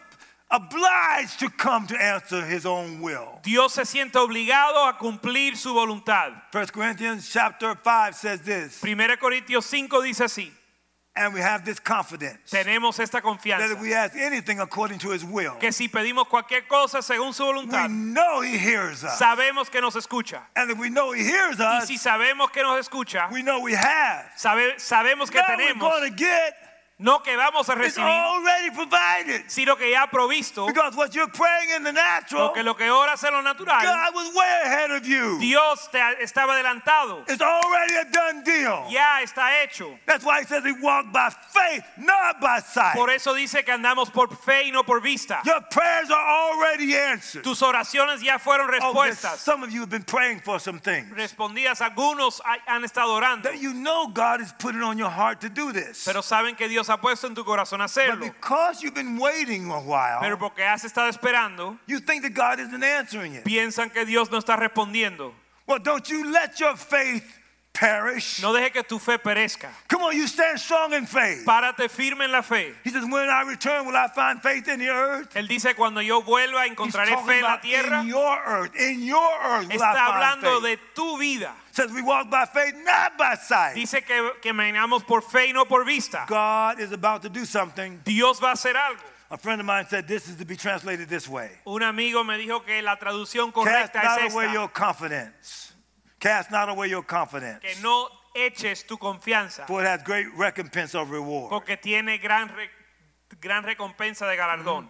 obliged to come to answer his own will. Dios se siente obligado a cumplir su voluntad. First Corinthians chapter five says this, Primera Corintios cinco dice así: and we have this confidence tenemos esta that confianza if we ask anything according to his will, que si pedimos cualquier cosa según su we voluntad, know he hears us. sabemos que nos escucha. And if we know he hears Y us, si sabemos que nos escucha, we know we have. sabe- sabemos que Now we're tenemos, going to get, no que vamos a it's recibir, already provided. sino que ya ha provisto, Because what you're praying in the natural, porque lo que oras en lo natural, God was way ahead of you. Dios te estaba adelantado, It's already a done deal. ya está hecho. That's why he says we walk by faith, not by sight. Por eso dice que andamos por fe y no por vista. Your prayers are already answered. Tus oraciones ya fueron Oh, there's- respuestas. some of you have been praying for some things Respondidas, algunos ha- han estado orando, that you know God is putting on your heart to do this. pero saben que Dios ha puesto en tu corazón But hacerlo. because you've been waiting a while, Pero porque has estado esperando, you think that God isn't answering it. piensan que Dios no está respondiendo. Well, don't you let your faith perish. No deje que tu fe perezca. Come on, you stand strong in faith. Párate firme en la fe. He says, when I return, will I find faith in the earth? Él dice, cuando yo vuelva He's encontraré talking fe en la about tierra. in your earth. In your earth will Está I find hablando faith. de tu vida. Says we walk by faith, not by sight. Dice que caminamos por fe y no por vista. God is about to do something. Dios va a hacer algo. A friend of mine said this is to be translated this way. Un amigo me dijo que la traducción Cast correcta not es away esta. your confidence. Cast not away your confidence. Que no eches tu confianza, For it has great recompense of reward. porque tiene gran, re- gran recompensa de galardón.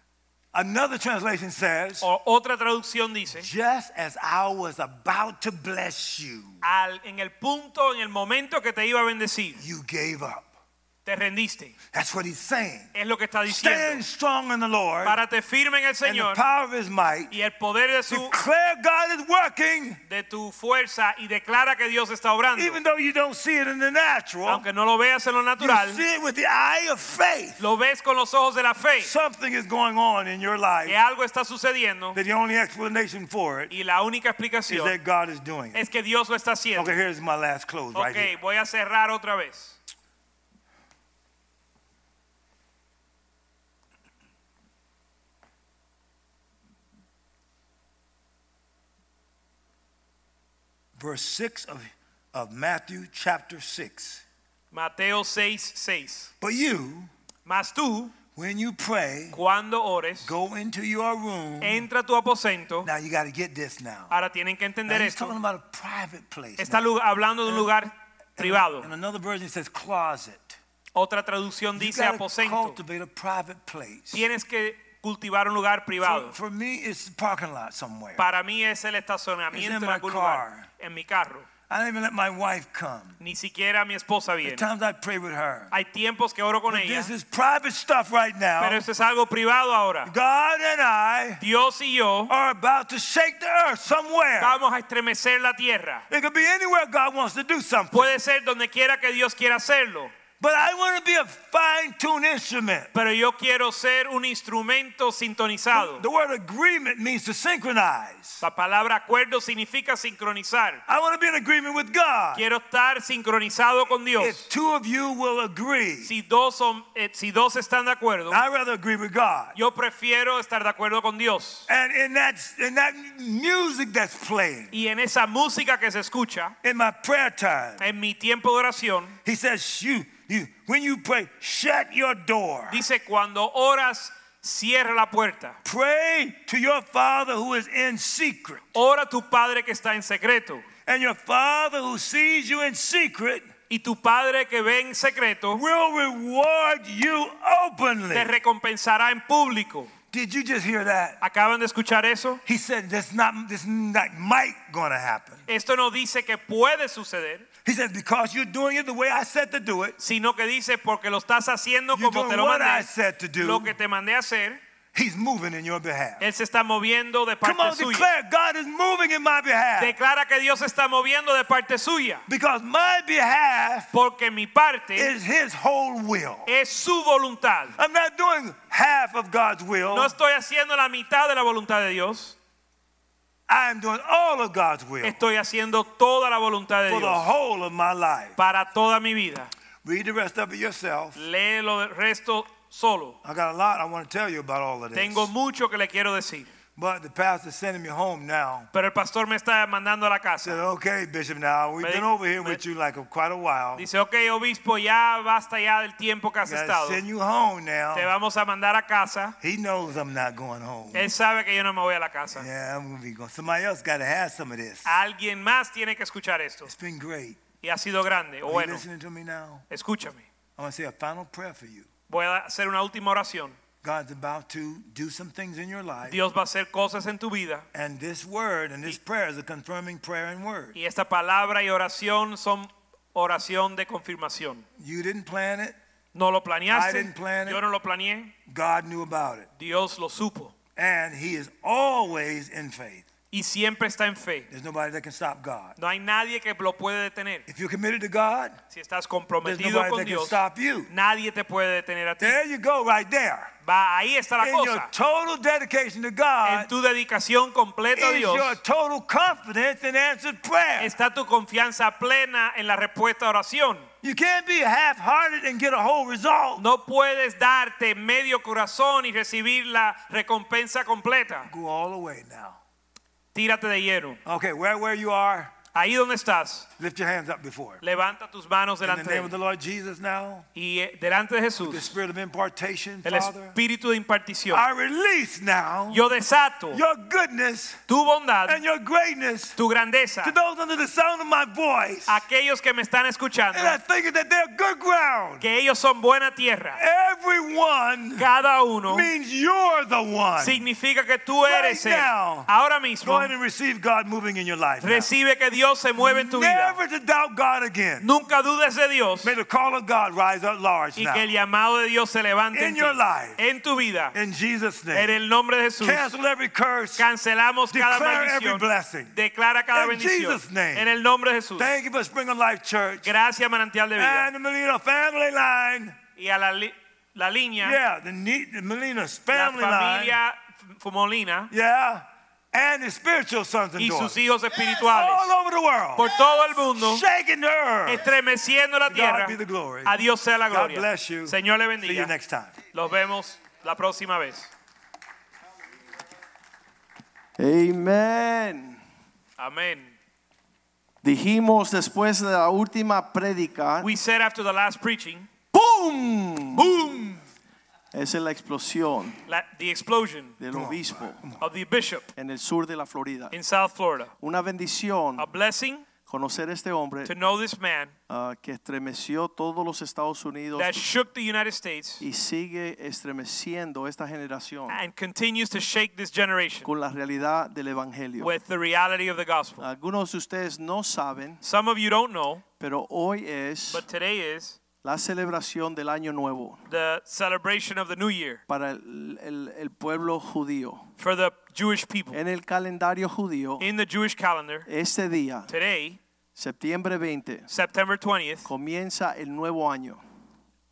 Another translation says, O otra traducción dice, just as I was about to bless you, al, en el punto, en el momento que te iba a bendecir, you gave up. te rendiste. That's what he's saying. Es lo que está Stand diciendo. strong in the Lord Párate firme en el and the Señor power of his might. y el poder de su Declare God is working, de tu fuerza y declara que Dios está obrando. even though you don't see it in the natural. Aunque no lo veas en lo You natural, see it with the eye of faith. lo ves con los ojos de la fe. Something is going on in your life Que algo está sucediendo that the only explanation for it y la única is explicación that God is doing it. es que Dios lo está haciendo. Okay, here's my last close right Ok, here. voy a cerrar otra vez. Verse six of, of Matthew chapter six. Mateo seis, seis. But you, Mas tú, when you pray, cuando ores, go into your room. entra a tu aposento. Now you got to get this now. Ahora tienen que Now entender he's talking esto. about a private place. Está now. lu- hablando de un lugar privado. And another version says closet. Otra traducción You dice got to aposento. cultivate a private place. Tienes que cultivar un lugar privado. For, for me, it's a parking lot somewhere. Para mí es el It's estacionamiento in en my algún car. lugar, en mi carro. I don't even let my wife come. Ni siquiera mi esposa At viene. times I pray with her. Hay tiempos que oro con But ella, this is private stuff right now. pero esto es algo privado ahora. God and I Dios y yo are about to shake the earth somewhere. vamos a estremecer la tierra. It could be anywhere God wants to do something. Puede ser donde quiera que Dios quiera hacerlo. But I want to be a fine-tuned instrument. Pero yo quiero ser un instrumento sintonizado. The word agreement means to synchronize. La palabra acuerdo significa sincronizar. I want to be in agreement with God. Quiero estar sincronizado con Dios. If two of you will agree, Si dos, son, eh, si dos están de acuerdo, I'd rather agree with God. yo prefiero estar de acuerdo con Dios. And in that, in that music that's playing, Y en esa música que se escucha, in my prayer time, en mi tiempo de oración, he says, you, you, when you pray, shut your door. dice cuando oras, cierra la puerta. Pray to your Father who is in secret. Ora a tu Padre que está en secreto. And your Father who sees you in secret Y tu Padre que ve en secreto will reward you openly. te recompensará en público. Did you just hear that? ¿Acaban de escuchar eso? He said this not this not might gonna happen. Esto no dice que puede suceder, He said because you're doing it the way I said to do it. sino que dice porque lo estás haciendo You're como te doing lo what I mandé, said to do. lo que te mandé a hacer. He's moving in your behalf. Él se está moviendo de Come on, parte suya. declare God is moving in my behalf. Declara que Dios se está moviendo de parte suya, Because my behalf porque mi parte is His whole will. es su voluntad. I'm not doing half of God's will. No estoy haciendo la mitad de la voluntad de Dios. I'm doing all of God's will Estoy haciendo toda la voluntad de for the Dios whole of my life. para toda mi vida. Read the rest of it yourself. Lee lo del resto solo. I got a lot I want to tell you about all of this. Tengo mucho que le quiero decir. But the pastor's sending me home now. Pero el pastor me está mandando a la I said, casa. okay, Bishop, now we've Me- been over here me- with you like a, quite a while. Dice, ok, obispo, ya basta ya del tiempo que has Gotta estado. send you home now. Te vamos a mandar a casa. He knows I'm not going home. Él sabe que yo no me voy a la casa. Yeah, I'm gonna be going. Somebody else got to have some of this. Alguien más tiene que escuchar esto. It's been great. Y ha sido grande. O Are you bueno, listening to me now? escúchame. I want to say a final prayer for you. Voy a hacer una última oración. God's about to do some things in your life. Dios va a hacer cosas en tu vida. And this word and this prayer is a confirming prayer and word. Y esta palabra y oración son oración de confirmación. You didn't plan it. No lo I planeaste. didn't plan it. Yo no lo planeé. God knew about it. Dios lo supo. And He is always in faith. Y siempre está en fe. There's nobody that can stop God. No hay nadie que lo puede detener. If you're committed to God, Si estás there's comprometido nobody con that can Dios, stop you. nadie te puede detener a ti. There you go, right there. Va, ahí está la In your cosa. total dedication to En God tu dedicación completa a is your Dios total confidence in answered prayer. está tu confianza plena en la respuesta a oración. You can't be half-hearted and get a whole result. No puedes darte medio corazón y recibir la recompensa completa. Go all the way now. Tírate de lleno. Okay, where, where you are, Ahí donde estás, lift your hands up before. levanta tus manos In the delante name de of the él. Lord Jesus now, Y eh, delante de the Jesús, spirit of impartation, el Father, espíritu de impartición. I release now Yo desato your goodness tu bondad, and your greatness tu grandeza, to those under the sound of my voice. aquellos que me están escuchando, And I think that they're good ground. que ellos son buena tierra. Everyone Cada uno means you're the one. significa que tú eres Right él. now. Ahora Go mismo, ahead and receive God moving in your life now. recibe que Dios se mueve en tu vida. Never to doubt God again. Nunca dudes de Dios May the call of God rise up large y now. que el llamado de Dios se levante In en ti, your life. en tu vida. In Jesus' En name. el nombre de Jesús, Cancel every curse. cancelamos cada Declare every maldición. blessing. Declara cada In bendición. Jesus' name. En el nombre de Jesús. Thank you for Spring of Life Church. Gracias, Manantial de Vida. And the Molina family line. Y a la, li- la línea, Yeah, the, ne- the Molina's la family line. familia F- Molina Yeah. And the spiritual sons and y daughters. sus hijos espirituales All over the world. por todo el mundo, Shaking the earth. estremeciendo la To tierra. God be the glory. A Dios sea la God gloria. bless you. Señor le See you bendiga. next time. Los vemos la próxima vez. Amén. Amén. Dijimos después de la última prédica, We said after the last preaching, ¡pum! boom, Esa es la explosión la, the explosion del obispo of the bishop en el sur de la Florida. in South Florida. Una bendición A blessing conocer a este hombre to know this man ah, que estremeció todos los Estados Unidos that shook the United States y sigue estremeciendo esta generación and continues to shake this generation con la realidad del evangelio. with the reality of the gospel. Algunos de ustedes no saben, Some of you don't know, pero hoy es but today is la celebración del Año Nuevo the celebration of the new year para el, el- el pueblo judío. for the Jewish people. En el calendario judío, In the Jewish calendar, este día, today, septiembre veinte, September twentieth, comienza el nuevo año.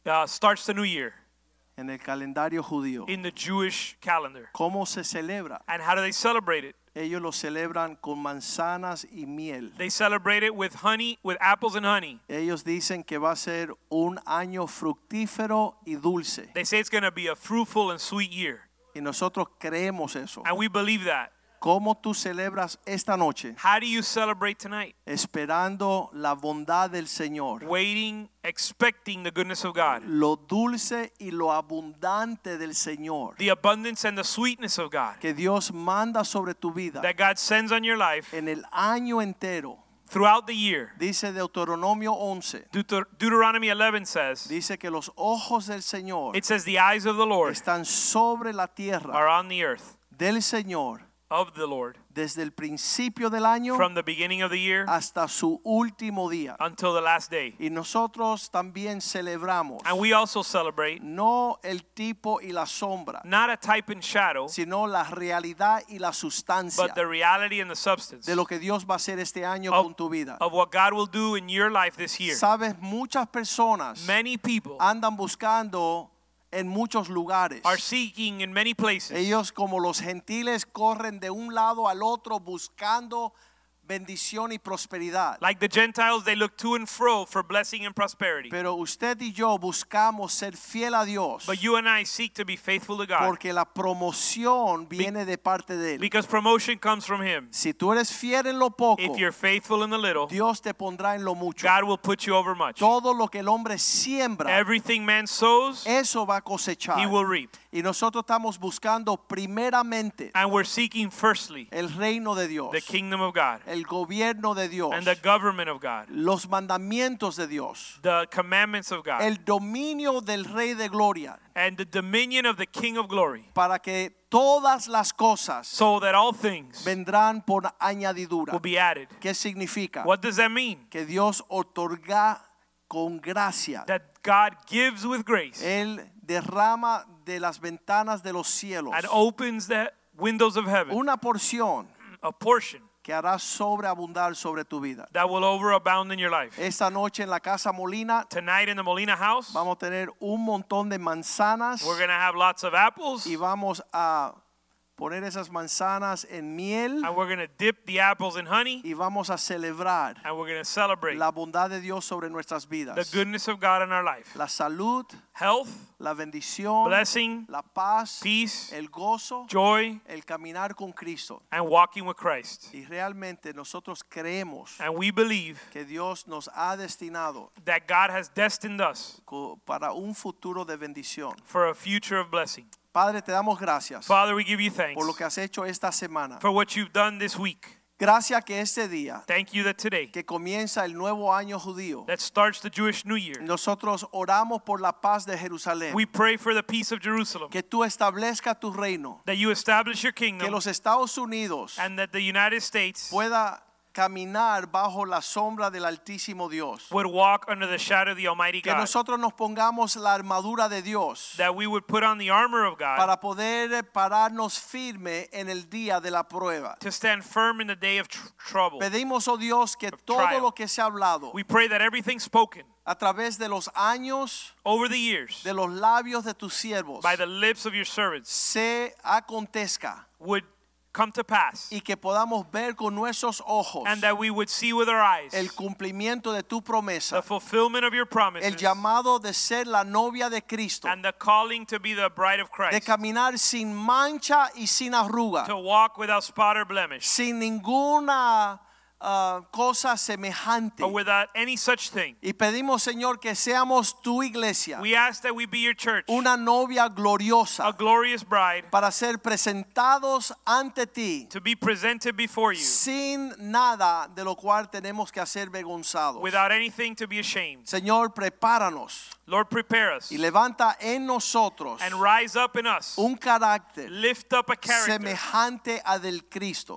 uh, starts the new year en el calendario judío. in the Jewish calendar. ¿Cómo se celebra? And how do they celebrate it? Ellos lo celebran con manzanas y miel. They celebrate it with honey, with apples and honey. Ellos dicen que va a ser un año fructífero y dulce. They say it's going to be a fruitful and sweet year. Y nosotros creemos eso. And we believe that. ¿Cómo tú celebras esta noche? How do you celebrate tonight? Esperando la bondad del Señor. Waiting, expecting the goodness of God. Lo dulce y lo abundante del Señor. The abundance and the sweetness of God Que Dios manda sobre tu vida that God sends on your life en el año entero. throughout the year. Dice Deuteronomio once. Deuter- Deuteronomy eleven says, Dice que los ojos del Señor it says the eyes of the Lord están sobre la tierra are on the earth del Señor of the Lord desde el principio del año from the beginning of the year hasta su último día. until the last day. Y nosotros también celebramos And we also celebrate no el tipo y la sombra, not a type and shadow, sino la realidad y la sustancia but the reality and the substance de lo que Dios va a hacer este año of, con tu vida. of what God will do in your life this year. Sabes, muchas personas Many people andan buscando en muchos lugares. are seeking in many places. Ellos como los gentiles corren de un lado al otro buscando bendición y prosperidad. Like the Gentiles, they look to and fro for blessing and prosperity. Pero usted y yo buscamos ser fiel a Dios But you and I seek to be faithful to God porque la promoción viene de parte de Él. because promotion comes from Him. Si tú eres fiel en lo poco, If you're faithful in the little, Dios te pondrá en lo mucho. God will put you over much. Todo lo que el hombre siembra, Everything man sows, eso va a cosechar. he will reap. Y nosotros estamos buscando primeramente And we're seeking firstly el reino de Dios, the kingdom of God el gobierno de Dios, and the government of God, los mandamientos de Dios, the commandments of God, el dominio del Rey de Gloria, and the dominion of the King of glory, para que todas las cosas so that all things vendrán por añadidura. will be added. ¿Qué significa? What does that mean? Que Dios otorga con gracia. That God gives with grace Él derrama de las ventanas de los cielos and opens the windows of heaven, una porción a portion que hará sobreabundar sobre tu vida. that will overabound in your life. Esta noche en la Casa Molina Tonight in the Molina house, vamos a tener un montón de manzanas we're going to have lots of apples, y vamos a poner esas manzanas en miel and we're going to dip the apples in honey, y vamos a celebrar and we're going to celebrate la bondad de Dios sobre nuestras the vidas. goodness of God in our life. La salud, Health, la bendición, blessing, la paz, peace, el gozo, joy, el caminar con Cristo. and walking with Christ. Y realmente nosotros creemos And we believe que Dios nos ha destinado that God has destined us co- para un futuro de bendición. for a future of blessing. Padre, te damos gracias Father, we give you thanks por lo que has hecho esta semana. for what you've done this week. Gracias que este día Thank you that today, que comienza el nuevo año judío, that starts the Jewish New Year, nosotros oramos por la paz de Jerusalén. we pray for the peace of Jerusalem, Que tú establezca tu reino, that you establish your que kingdom, los Estados Unidos and that the United States pueda caminar bajo la sombra del Altísimo Dios. would walk under the shadow of the Almighty Que God, nosotros nos pongamos la armadura de Dios that we would put on the armor of God para poder pararnos firme en el día de la prueba. to stand firm in the day of tr- trouble. Pedimos, oh Dios, que todo trial. lo que se ha hablado We pray that everything spoken a través de los años, over the years de los labios de tus siervos, by the lips of your servants se acontezca would come to pass, y que podamos ver con nuestros ojos and that we would see with our eyes el cumplimiento de tu the promesa, fulfillment of your el promises llamado de ser la novia de Cristo, and the calling to be the bride of de Christ, caminar sin mancha y sin arruga, to walk without spot or blemish, sin ninguna uh, cosa semejante. or without any such thing. Y pedimos, Señor, que seamos tu iglesia, We ask that we be your church, una novia a gloriosa, glorious bride, para ser presentados ante ti to be presented before you sin nada de lo cual tenemos que ser vergonzados. without anything to be ashamed. Señor, prepáranos Lord, prepare us y levanta en nosotros and rise up in us, un carácter lift up a character semejante a del Cristo.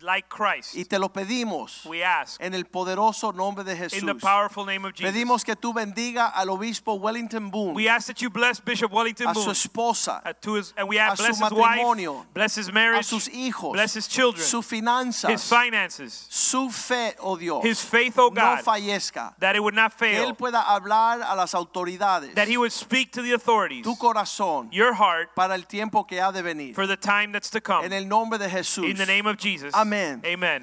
like Christ. Y te lo pedimos We ask en el poderoso nombre de in the Jesús. powerful name of Jesus. Pedimos que tú bendiga al obispo Wellington Boone, We ask that you bless Bishop Wellington a su Boone, esposa, uh, to his, and we a ask su bless his matrimonio, wife, bless his a marriage, sus hijos, bless his children, sus his finanzas, finances, su fe, oh Dios, his faith, oh no God, fallezca. that it would not Que fail, él pueda hablar a las autoridades, that he would speak to the authorities, tu corazón, your heart, para el tiempo que ha de venir. for the time that's to come. En el nombre de Jesús. In the name of Jesus. Amén. Amen.